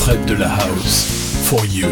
Fred de la House, For You.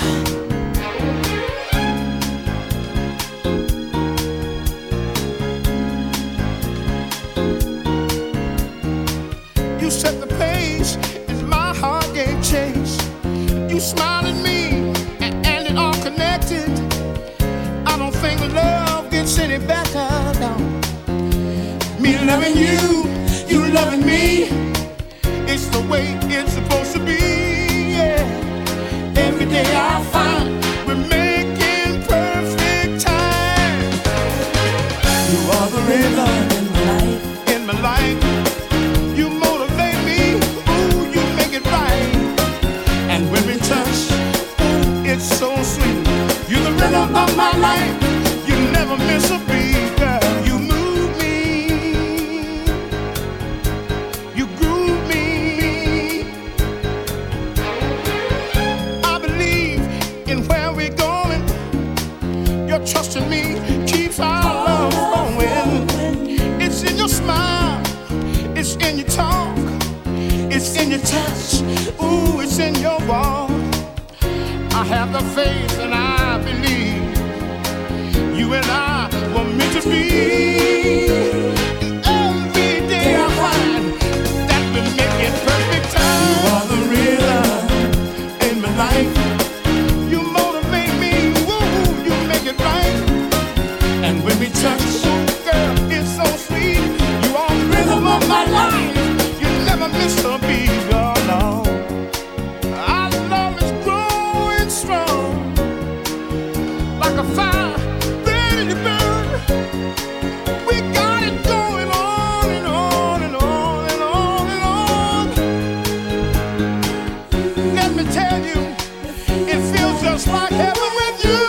You set the pace as my heart gave chase. You smiled at me and it all connected. I don't think love gets any better, no. Me loving you, you loving me. It's the way it's supposed to be, yeah. Every day I find we're making perfect time. You are the rhythm in my life, in my life. You motivate me, ooh, you make it right. And when we touch, ooh, it's so sweet. You're the rhythm of my life. You never miss a beat, girl. You move me, you groove me. I believe in where we're going. Your trust in me keeps our love going. It's in your smile, it's in your talk, it's in your touch, ooh, it's in your walk. I have the faith and I believe you and I were meant to be. Every day I find that we make it perfect time. You are the rhythm in my life. You motivate me, woo, you make it right. And when we touch, ooh, girl, it's so sweet. You are the rhythm of my life. You never miss a beat, oh no. Our love is growing strong, like a fire ready to burn. We got it going on and on and on and on and on. Let me tell you, it feels just like heaven with you.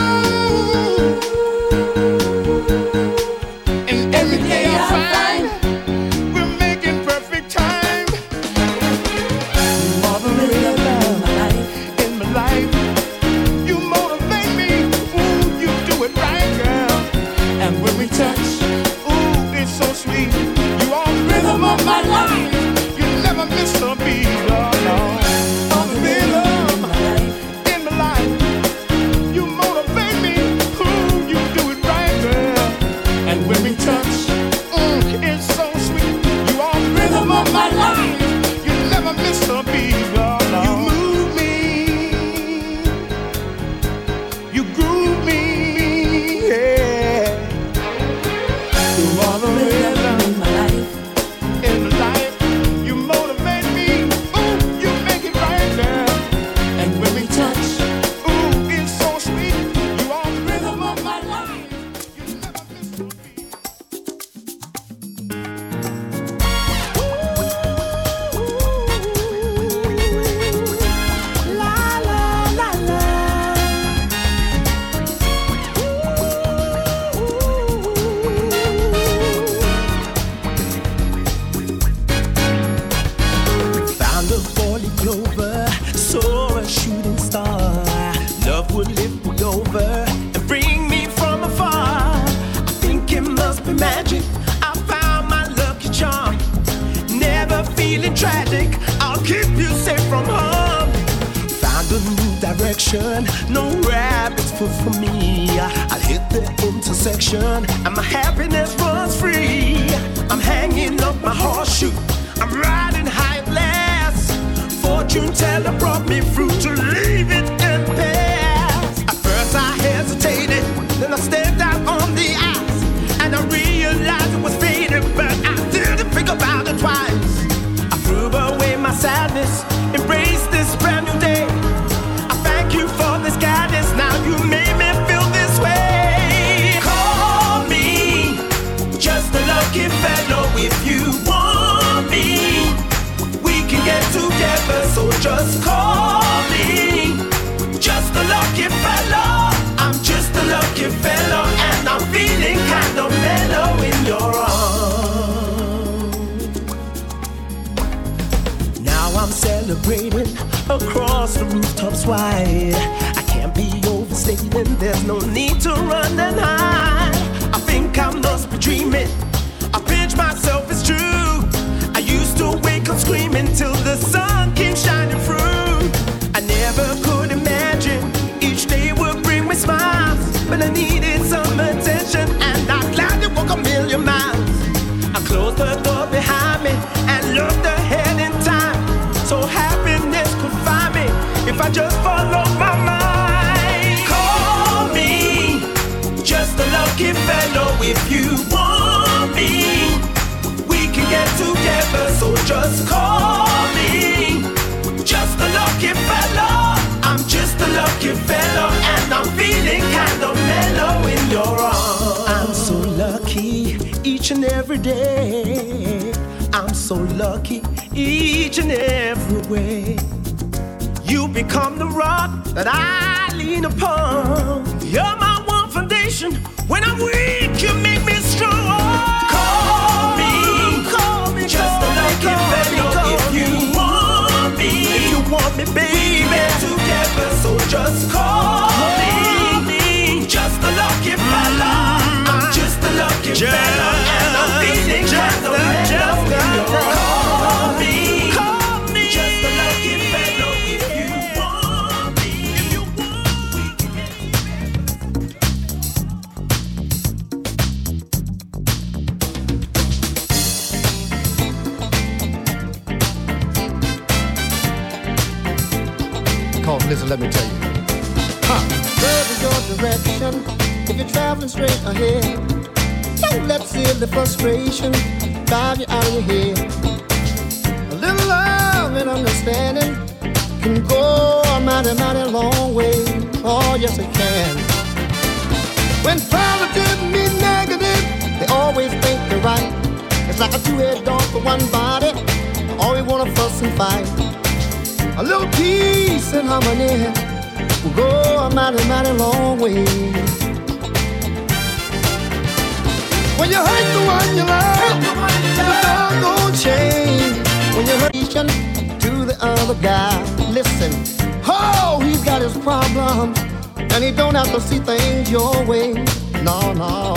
And every day I find we're making perfect time. You are the rhythm in my life. You motivate me, ooh, you do it right, girl. And when we touch, ooh, it's so sweet. You are the rhythm of my life. You never miss a beat, oh no. On the rhythm in my life. You motivate me, ooh, you do it right, girl. And when we touch, it's so sweet. You are the rhythm of my life. You never miss a beat, oh no. You move me, you groove me, yeah. You are the rhythm in my life, in my life. You motivate me, ooh, you make it right, girl. And when we touch, ooh, it's so sweet. You are the rhythm of my life. You never miss a beat. La la la la. Found a four-leaf clover, saw a shooting star. Love would lift me over and bring me from afar. I think it must be magic. I found my lucky charm. Never feeling tragic. I'll keep you safe from harm. Found a new direction. No rabbit's foot for me. I'll hit the intersection and my happiness runs free. I'm hanging up my horseshoe. I'm riding high at last. Fortune teller brought me through to leave it in past. At first I hesitated, then I stepped out on the ice, and I realized it was fading, but I didn't think about it twice. I threw away my sadness, embraced this brand new day. I thank you for this guidance, now you made me feel this way. Call me just a lucky fellow if you want me. We can get together, so just call me. Just a lucky fellow. I'm just a lucky fellow, and I'm feeling kind of mellow in your arms. Now I'm celebrating across the rooftops wide. I can't be overstating, there's no need to run and hide. I think I must be dreaming. I pinch myself, it's true. I used to wake up screaming till the sun came shining through. close the door behind me and looked ahead in time. So happiness could find me if I just follow my mind. Call me just a lucky fellow. If you want me, we can get together. So just call me just a lucky fellow. I'm just a lucky fellow, and I'm feeling kind of mellow in your arms. I'm so lucky each and every day. I'm so lucky each and every way. You become the rock that I lean upon. You're my one foundation. When I'm weak, you make me strong. Call me just a lucky fellow. If you want me, baby, we get together. So just call me just a lucky fella. I'm just a lucky fella, and I'm feeling kind of mellow. Call me just a lucky fellow. If you want me, we can get Call, listen, let me tell you. Love is your direction if you're traveling straight ahead. Don't let silly frustration drive you out of your head. A little love and understanding can go a mighty, mighty long way. Oh, yes, it can. When positive meet negative, they always think they're right. It's like a two-head dog for one body. Always wanna fuss and fight. A little peace and harmony will go a mighty, mighty long way. When you hurt the one you love, the dog gon' change. When you hurt each other to the other guy, listen, oh, he's got his problems, and he don't have to see things your way. No, no.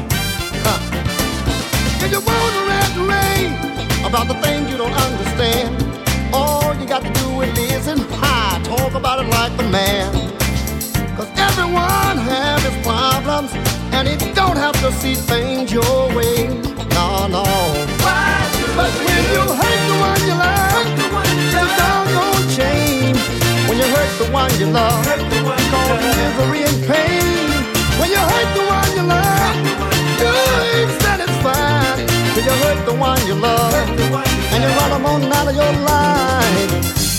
If you wanna rant about the things you don't understand, all you got to do is listen, talk about it like the man. Cause everyone has his problems, and he don't have to see things your way. No, no. But when you hurt the one you love, the dog gon' change. When you hurt the one you love, cause misery and pain. When you hurt the one you love, you ain't satisfied. When you hurt the one you love, and you run them on out of your life.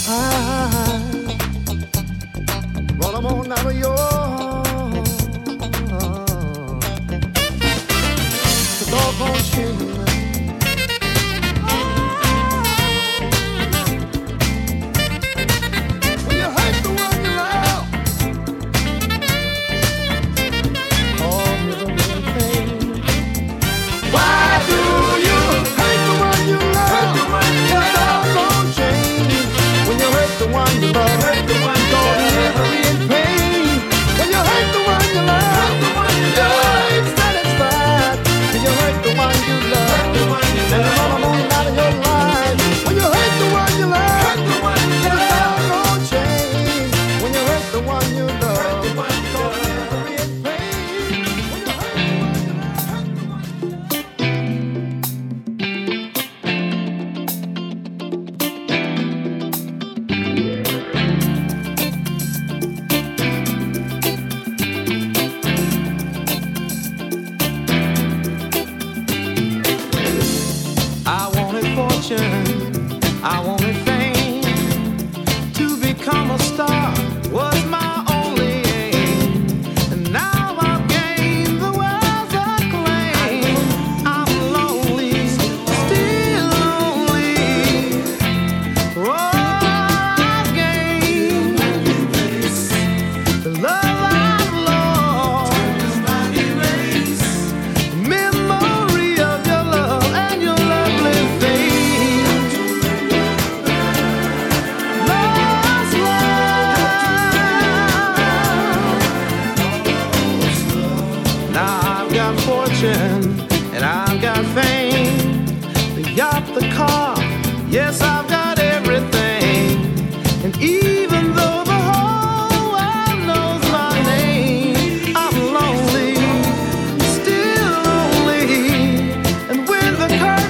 Run them on out of your the doggone shame. When you hurt the one you love, oh, misery and pain. Why do you hurt the one you love? The doggone change. When you hurt the one you love, cause misery and pain. When you hurt the one you love, you ain't satisfied. When you hurt the one you love, and you run them on out of your life. When you hurt the one you love, the doggone change. When you hurt the one you love, cause misery and pain. When you hurt the one you I wanted fortune, I wanted fame. To become a star was my only aim. And now I've gained the world's acclaim. I'm lonely, still lonely. Oh, I've gained the love I've lost. Memory of your love and your lovely face. Lost love. Now I've got fortune and I've got fame. The yacht, the car, yes, I've got everything. And even though the whole world knows my name, I'm lonely, still lonely. And when the curtain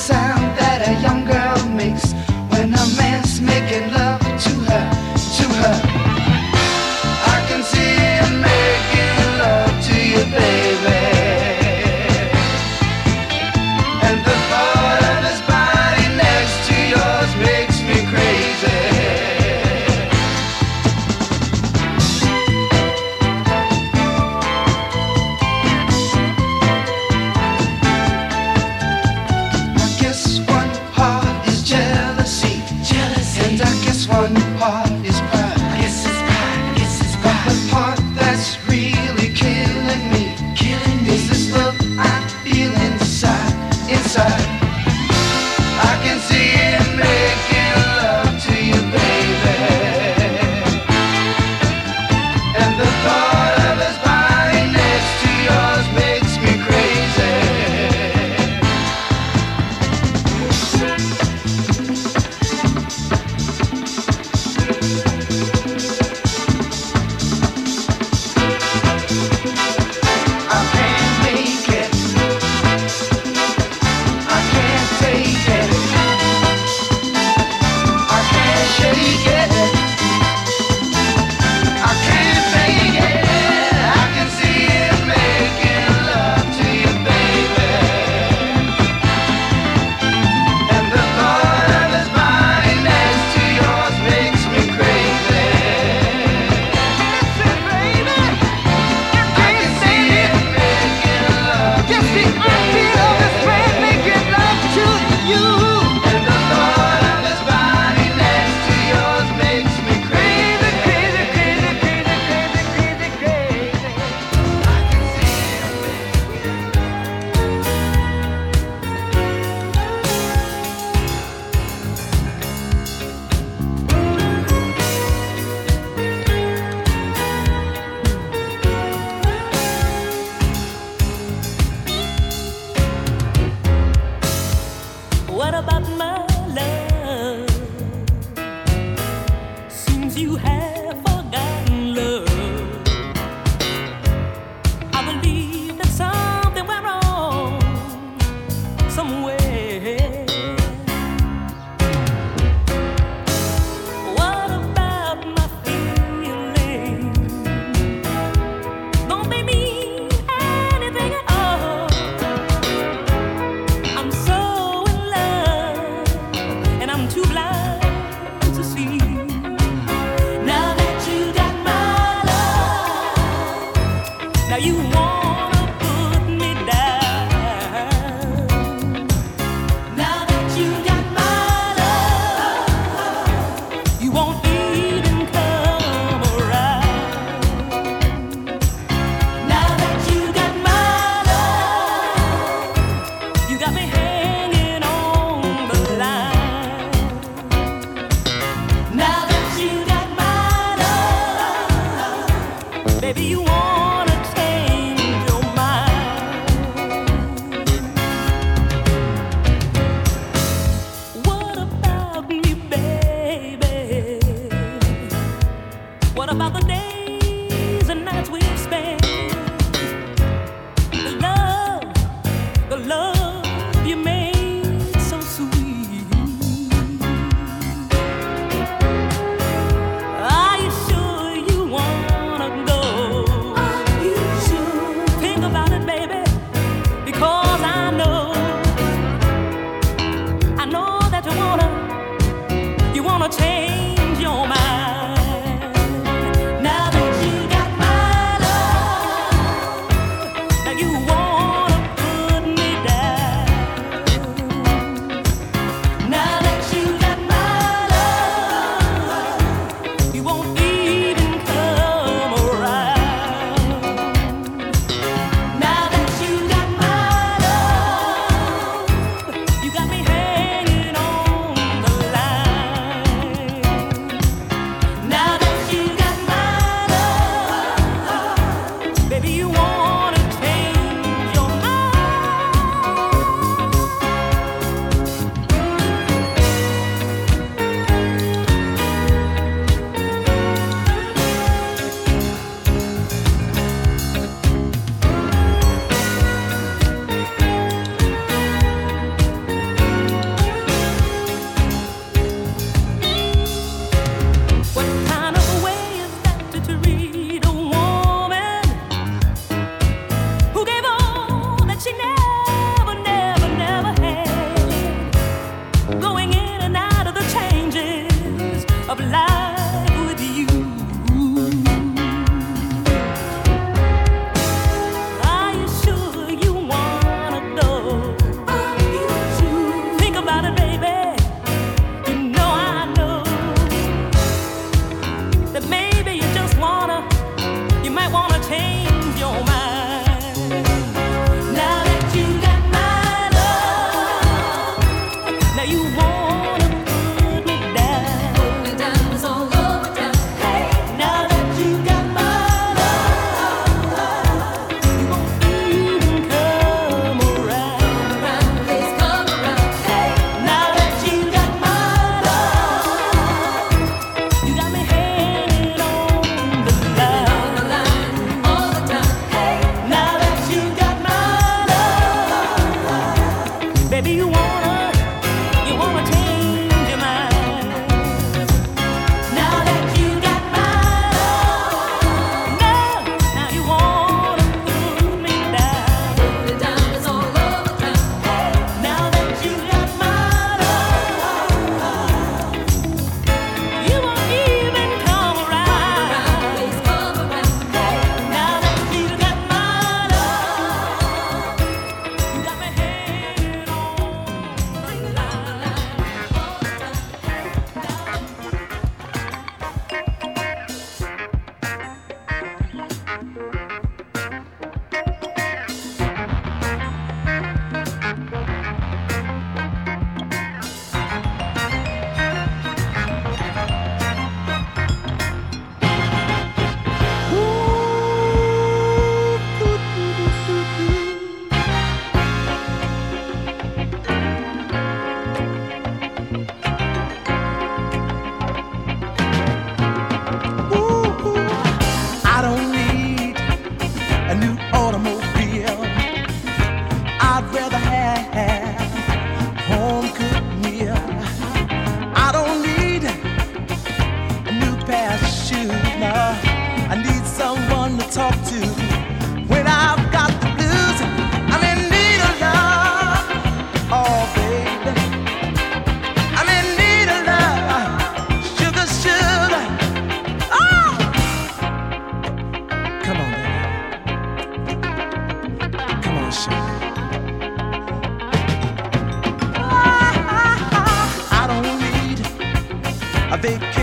sound that a young girl makes when a man's making love to her, to her. I can see him making love to you, baby. And the thought of his body next to yours makes me crazy. One part is pride, I guess it's pride, I guess it's pride. But the part that's really killing me is this love I feel inside, inside. I can see him making love to you, baby. And the thought of his body next to yours makes me crazy. What about my love? Seems you have forgotten love. I believe that something went wrong somewhere. What about my feelings? Don't they mean anything at all? I'm so and I'm too blind to see. Now that you got my love, now you wanna put me down. Now that you got my love, you won't even come around. Now that you got my love, you got me hanging on the line. Now that you got my love, baby, you wanna change your mind. What about me, baby? What about the days and nights we've spent? The love you made so sweet. Are you sure you wanna go? Are you sure? Think about it, baby, because I know that you wanna change your mind.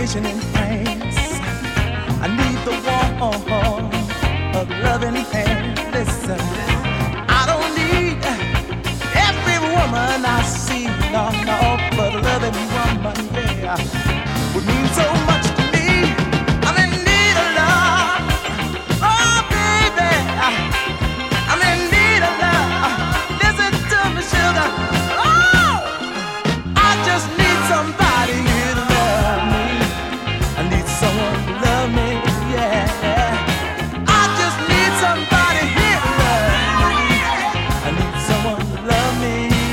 vacation in France. I need the warmth of loving hand. Listen, I don't need every woman I see, no, no, but a loving woman, yeah, would mean so much to me. I'm in need of love, oh baby, I'm in need of love. Listen to me, sugar, oh, I just need somebody here to love me. I need someone to love me, yeah. I just need somebody here to love me. I need someone to love me.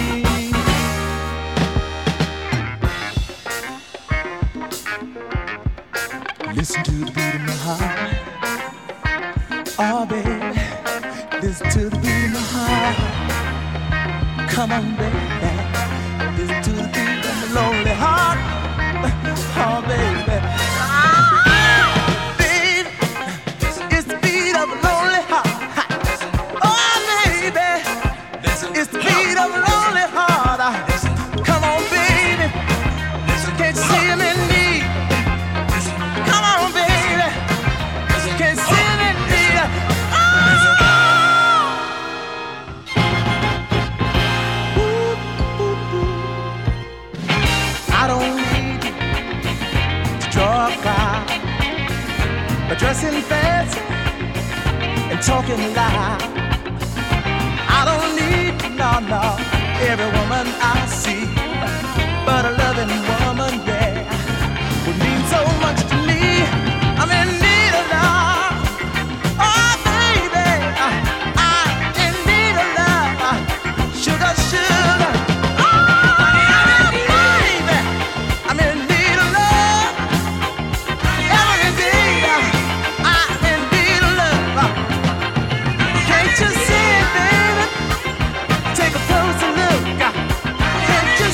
Listen to the beat of my heart. Oh, baby, listen to the beat of my heart. Come on, baby, listen to the beat of my lonely heart. Oh, baby. Baby, it's the beat of a lonely heart. Oh, baby, it's the beat of a lonely heart. Come on, baby, can't you see him in need? Come on, baby, can't you see him in need? I don't need to draw a crowd, but dressing fancy and talking loud. I don't need, no, every woman I see, but a loving woman, yeah, would mean so much to me. I'm in need of love, oh baby, I'm in need of love, sugar, sugar. Oh, baby, I'm in need of love. Every day, I'm in need of love. Can't you see it, baby? Take a closer look. Can't you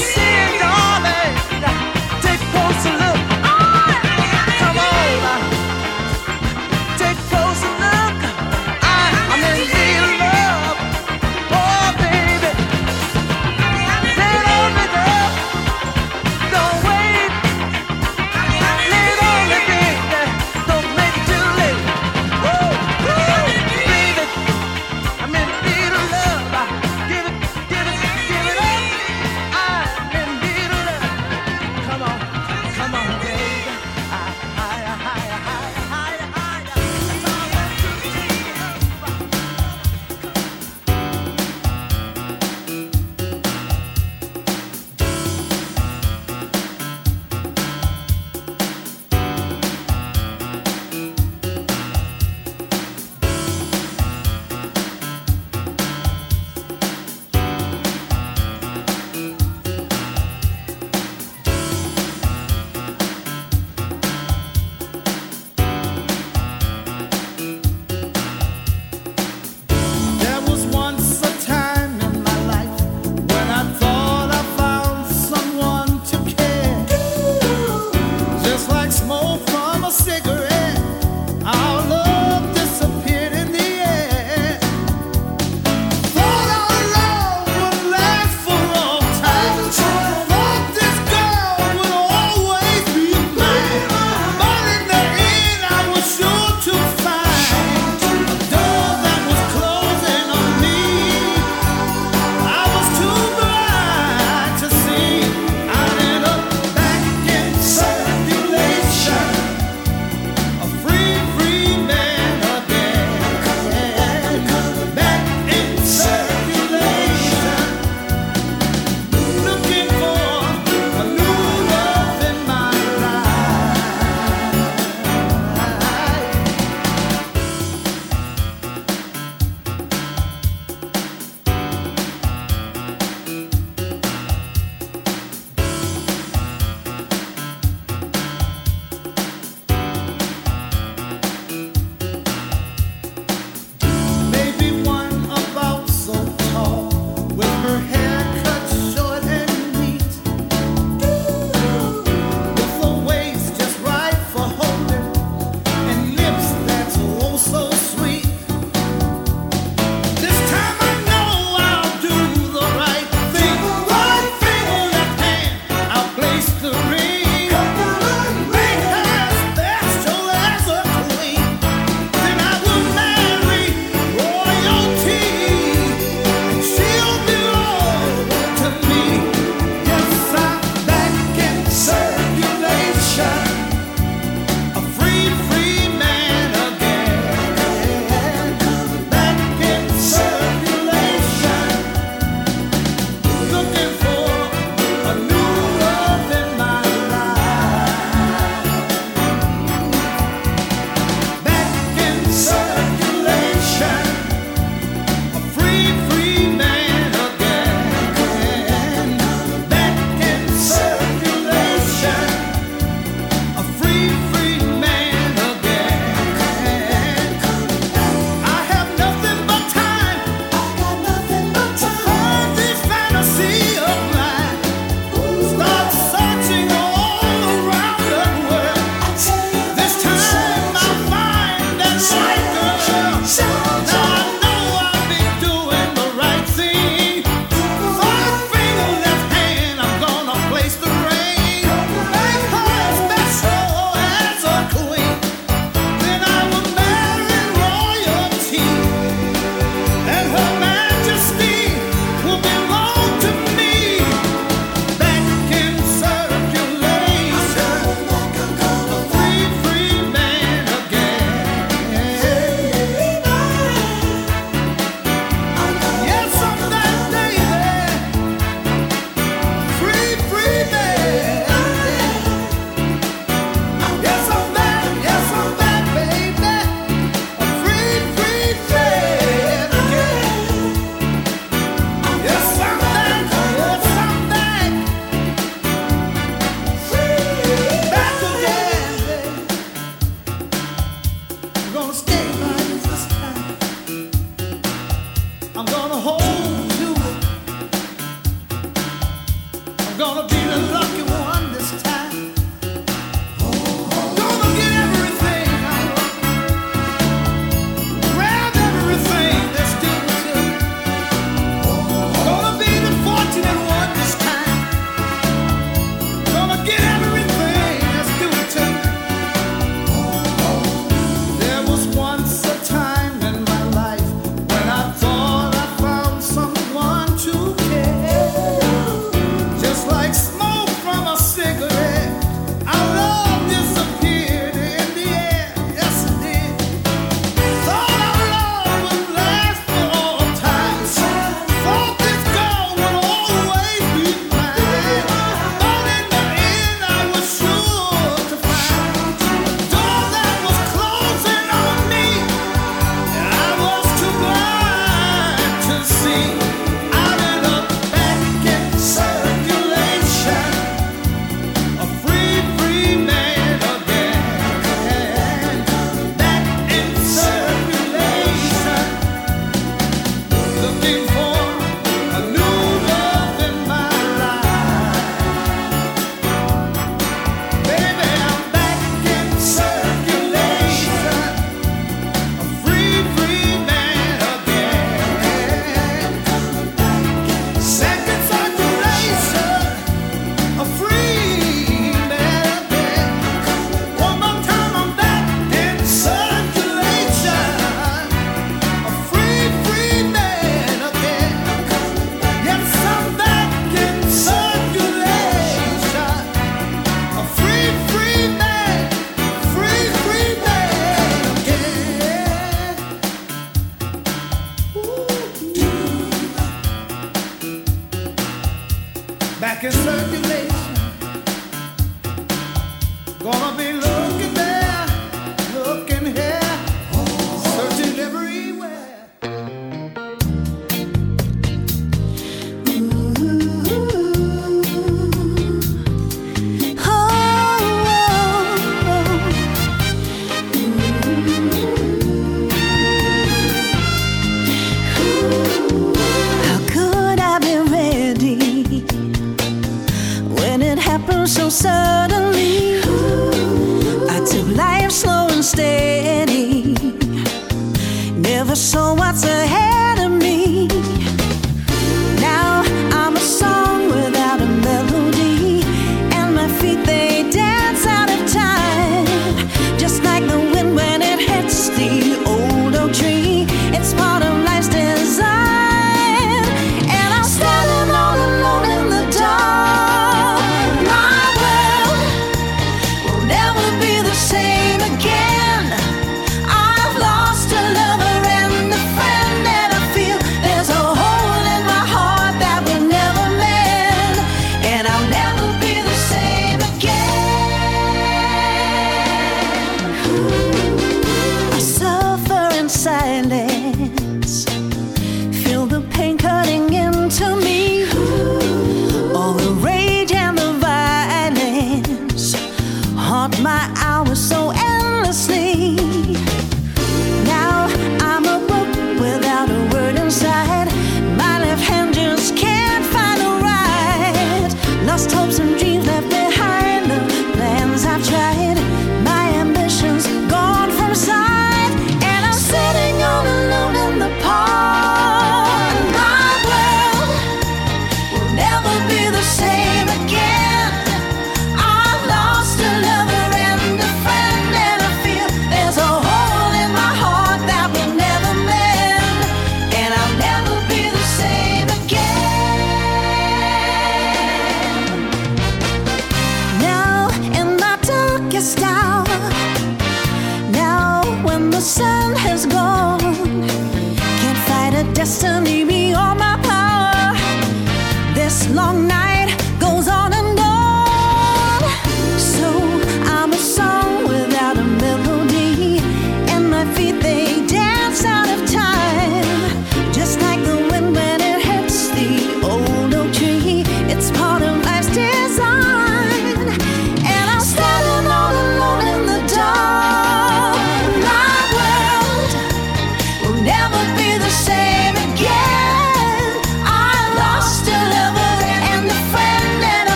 back in circulation. Gonna be looking there, looking here, searching everywhere. So suddenly, I took life slow and steady, never saw what's ahead of me. Now I'm a song without a melody, and my feet they dance out of time, just like the wind when it hits the old oak tree. It's part of life's design, and I'm standing all alone in the dark. Same again. I've lost a lover and a friend,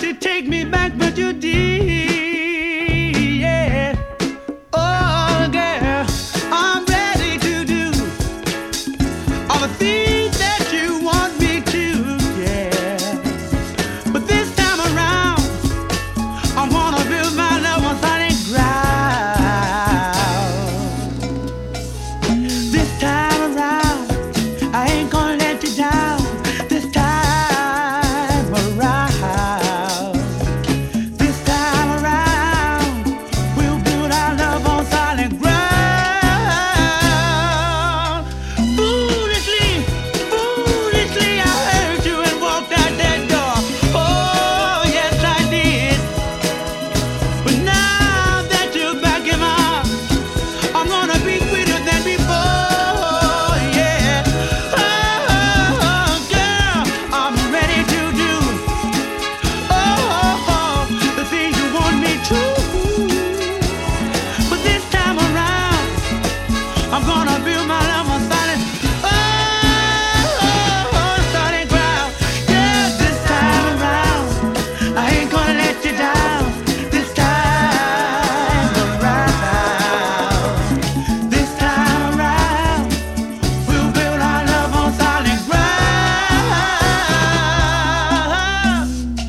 to take me back, but you did. Yeah. Oh, girl, I'm ready to do all the things that you want me to. Yeah. But this time around, I wanna build my love on solid ground. This time around, I ain't gonna let you down. This time around, this time around, we'll build our love on solid ground. Foolishly, foolishly, I heard you and walked out that door. Oh, yes, I did. But now that you're back in my arms, I'm gonna be sweeter than before, yeah. Oh, girl, I'm ready to do, the things you want me to. But this time around, I'm gonna build my love on solid, solid ground. Yeah, this time around, I ain't gonna let you down. This time around, this time around, we'll build our love on solid ground.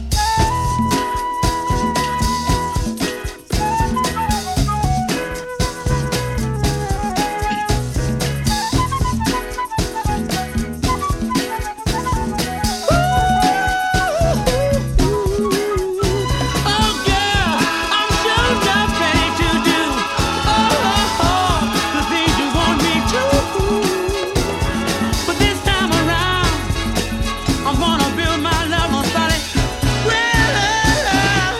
Oh, girl, I'm sure enough ready to do, the things you want me to. But this time around, I'm gonna build my love on solid ground.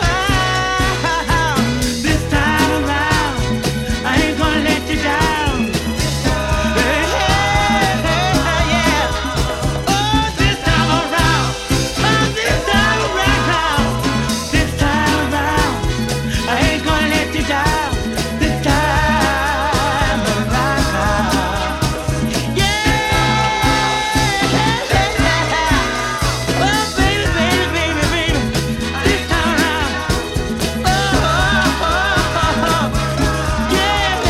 This time around, I ain't gonna let you down. Hey, hey, hey, yeah. Oh, this time around, this time around, this time around, I ain't gonna let you down. This time around, yeah. Oh, baby, baby, baby, baby, this time around, yeah.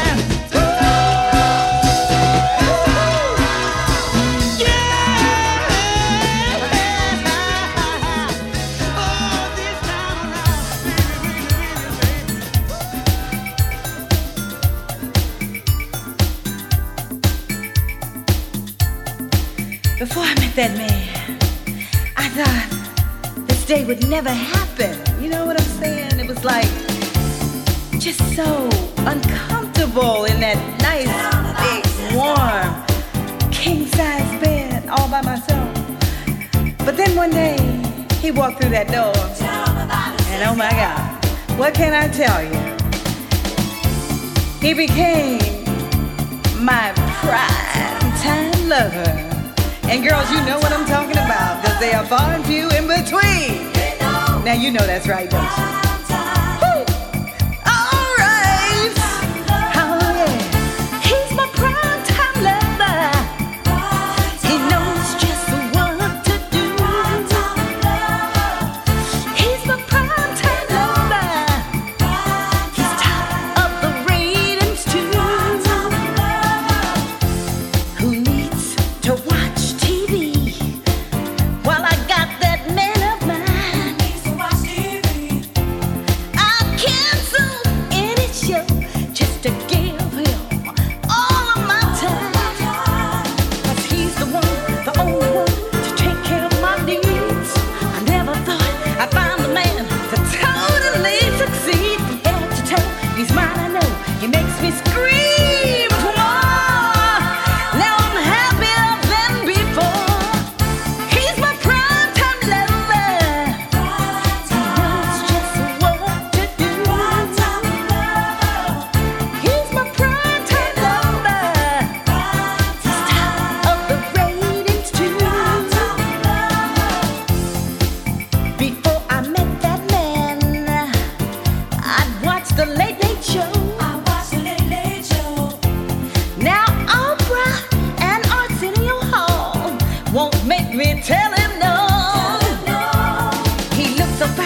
Before I met that man, I thought this day would never happen. You know what I'm saying? It was like just so uncomfortable in that nice, big, warm, king-size bed all by myself. But then one day, he walked through that door, and oh my God, what can I tell you? He became my prime-time lover. And girls, you know what I'm talking about, because they are far and few in between. Now you know that's right, don't you? Woo! All right. Oh yeah. He's my prime-time lover. He knows just what to do. He's my prime-time lover. He's top of the ratings too. Who needs to watch TV while I got that man of mine? I cancel any show just to give him all of my time. 'Cause he's the one, the only one to take care of my needs. I never thought I'd find the man to totally succeed. From head to toe, he's mine, I know. He makes me scream for more. Now I'm happier than before. He's my prime-time lover. He knows just what to do. He's my prime-time lover. He's top of the ratings too. Before I met that man, I'd watch the Late Late Show. Now Oprah and Arsenio Hall won't make me tell him no. He looks so fine.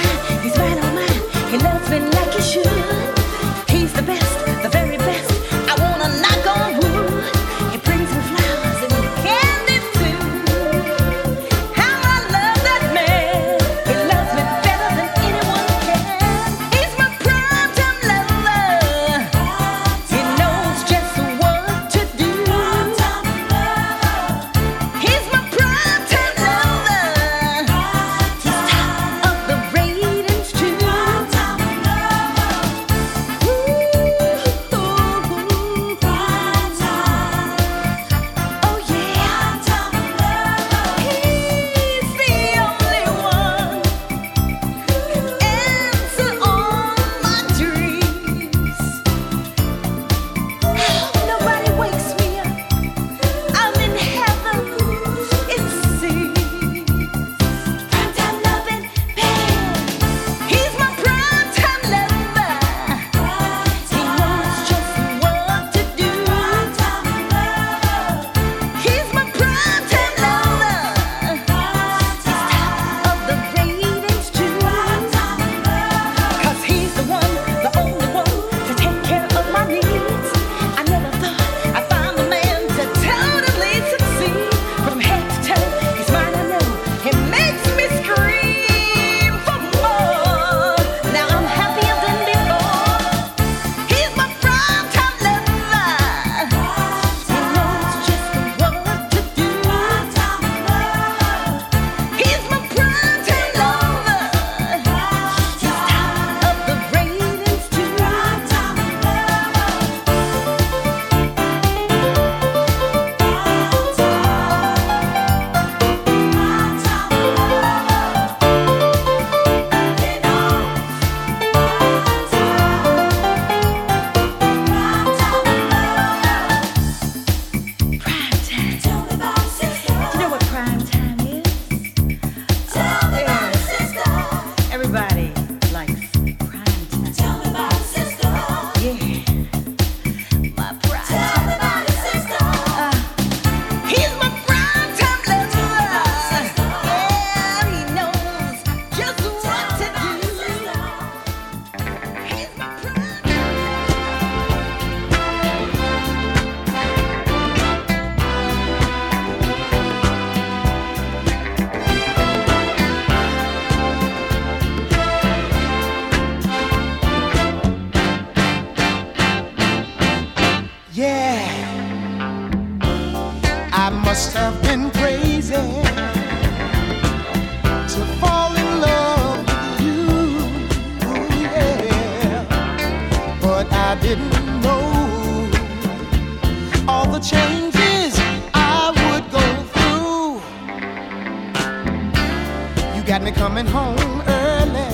got me coming home early.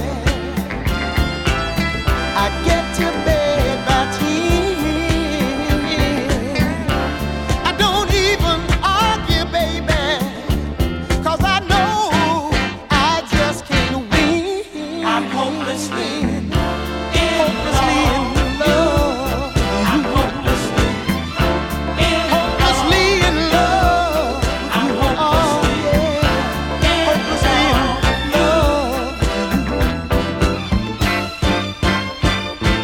I get to bed by 10. I don't even argue, baby, 'cause I know I just can't win. I'm hopelessly in love. I'm hopelessly in Hopelessly in love. I'm Oh, hopelessly yeah. Hopelessly in love.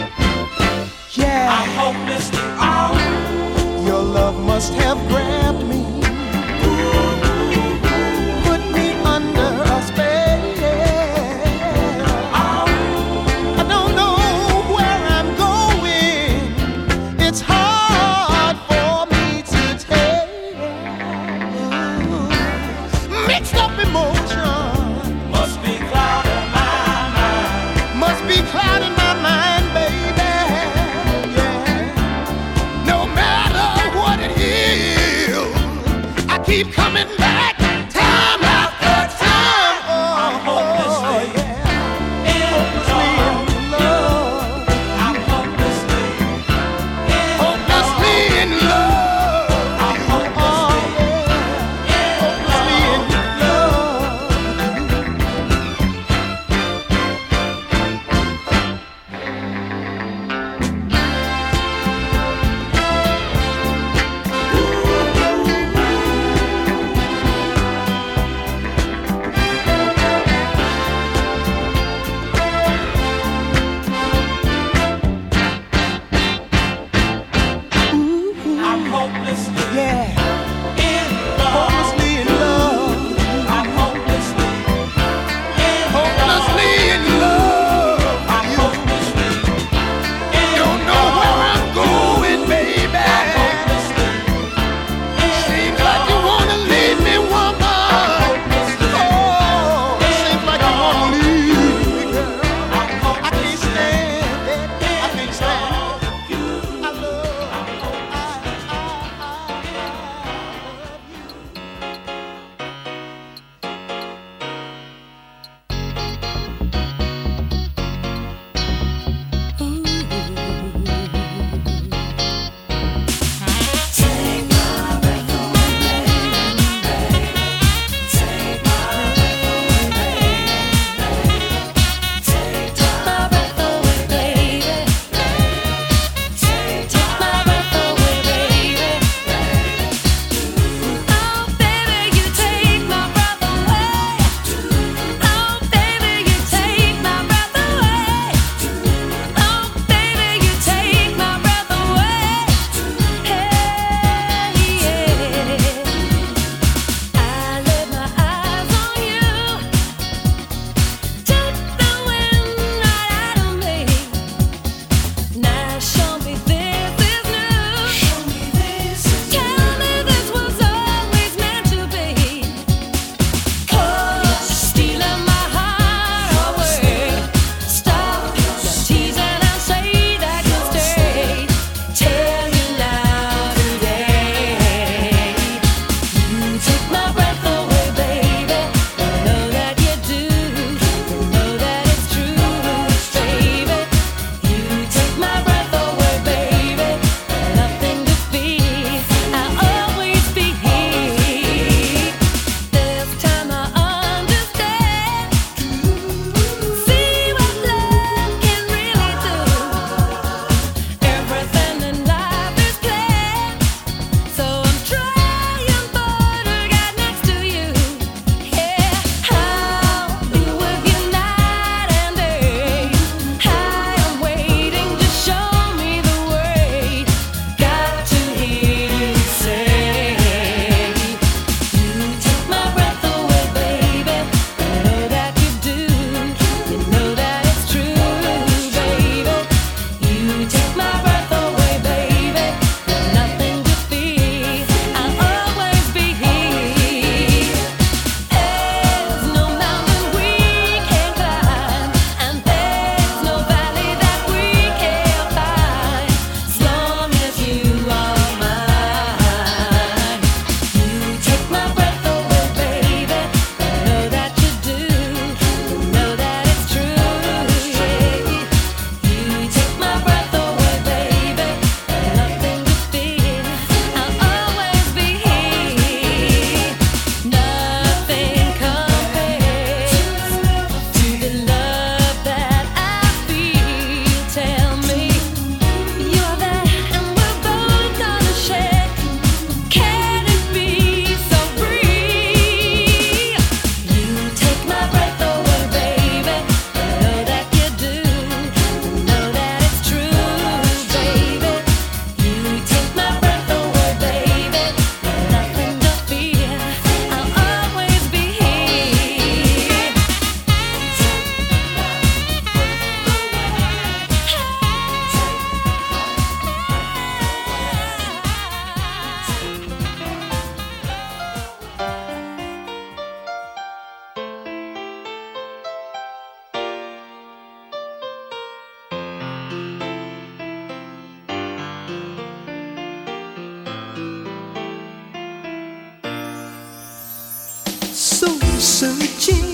searching,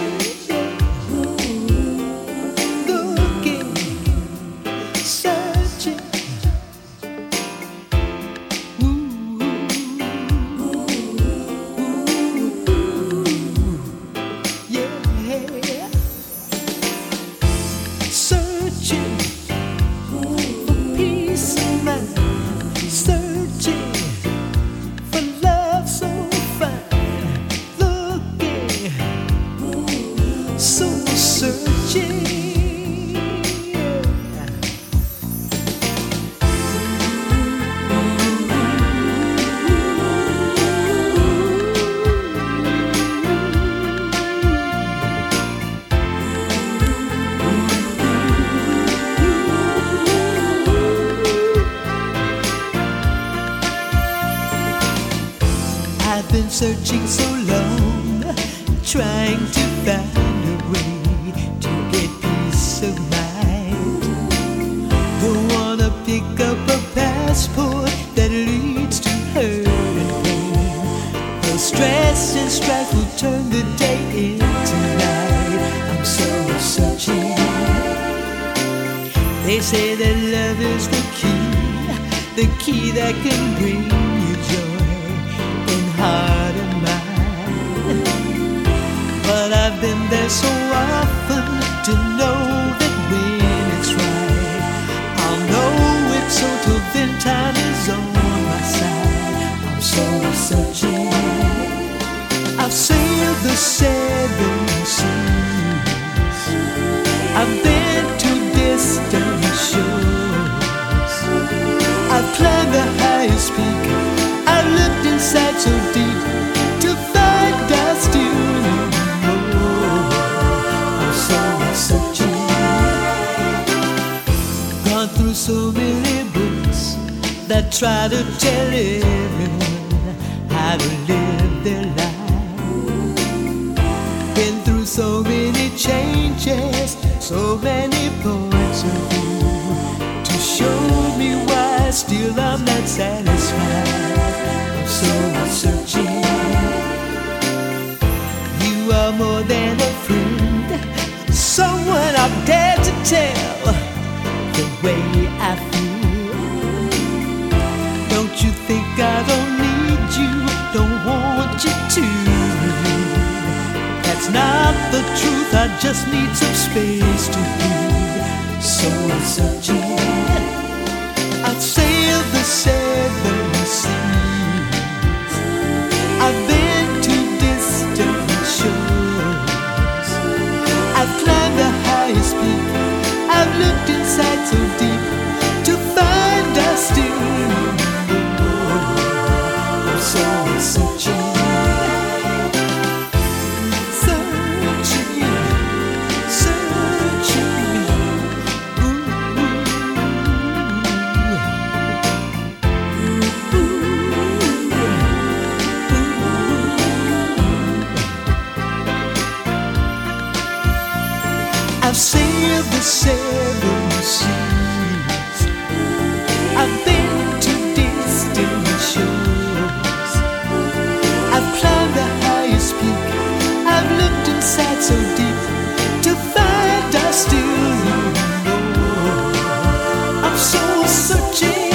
looking, searching. Yeah, searching for peace of mind, searching for love so fine, looking, so searching. I've been searching so long, trying to find a way to get peace of mind. Don't wanna pick up a passport that leads to hurt and pain. The stress and strife will turn the day into night. I'm so searching. They say that love is the key that can bring you joy in heart and mind. But I've been there so often to know that when it's right, I'll know it's so till then time is on my side. I'm so searching. I've sailed the 7 seas, I've been to distant shores, I've climbed the highest peak, I've looked inside so deep to find out still more. I'm so searching. Gone through so many books that try to tell everyone how to live their life. Been through so many changes, so many points of view to show me why still I'm not satisfied. I'm so searching. You are more than a friend, someone I've dared to tell the way I feel. Don't you think I don't need you, don't want you to? That's not the truth, I just need some space to breathe. So searching. I've sailed the 7 seas, I've been to distant shores, I've climbed the highest peak, I've looked inside so deep to find out still more. I'm so searching. I've sailed the 7 seas, I've been to distant shores, I've climbed the highest peak, I've looked inside so deep to find out still more. I'm so searching.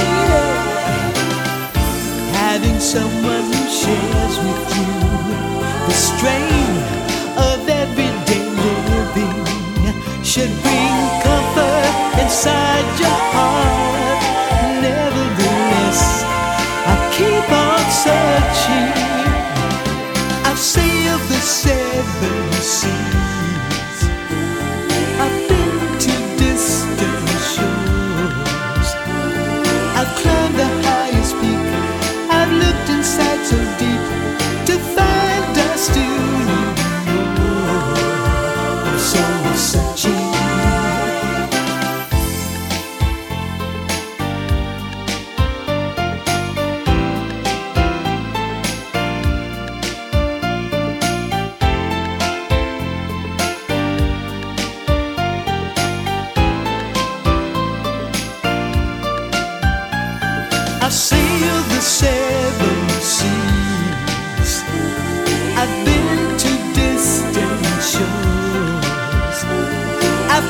Having someone who shares with you the strain of everyday living should bring comfort inside your heart. Nevertheless, I keep on searching. I've sailed the 7 seas, I've been to distant shores, I've climbed the highest peak, I've looked inside so deep to find out still more. I'm so searching.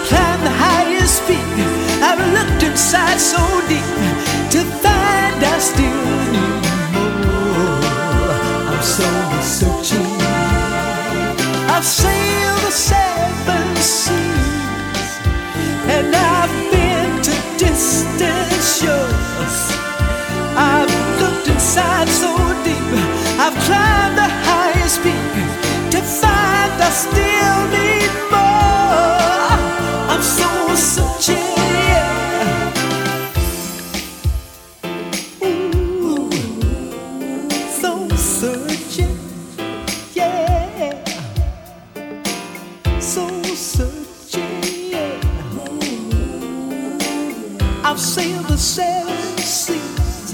climbed the highest peak. I've looked inside so deep to find I still need more. I'm so searching. I've sailed the 7 seas, and I've been to distant shores. I've looked inside so deep, I've climbed the highest peak to find I still need more. I'm so searching, yeah. Ooh, so searching, yeah. So searching, yeah. I've sailed the 7 seas,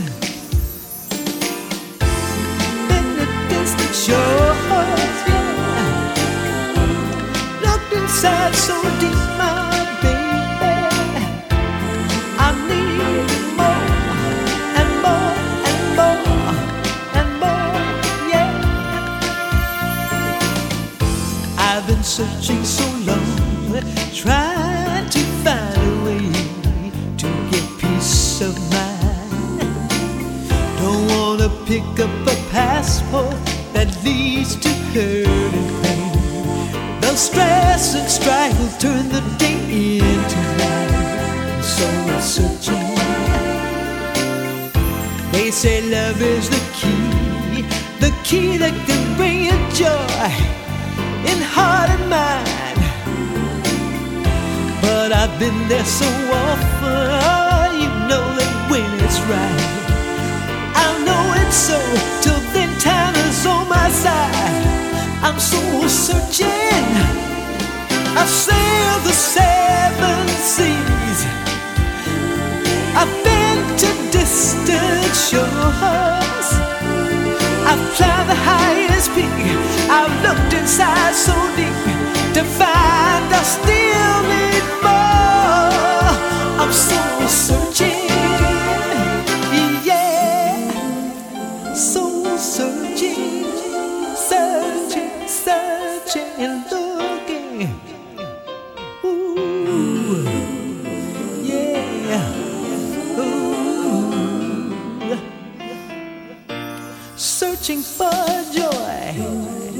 been to distant shores, yeah. Looked inside so deep, my baby. I need more and more and more and more, yeah. I've been searching so long, trying to find a way to get peace of mind. Don't wanna pick up a passport that leads to hurt and pain. The stress and strife will turn the day into night. So I'm searching. They say love is the key that can bring you joy in heart and mind. But I've been there so often, you know that when it's right, I'll know it's so. Till then, time is on my side. I'm so searching. I've sailed the 7 seas, I've been to distant shores, I've climbed the highest peak, I've looked inside so deep to find I still need more. I'm so searching, yeah. So searching, searching, searching and looking. Ooh, yeah. Ooh. Searching for joy.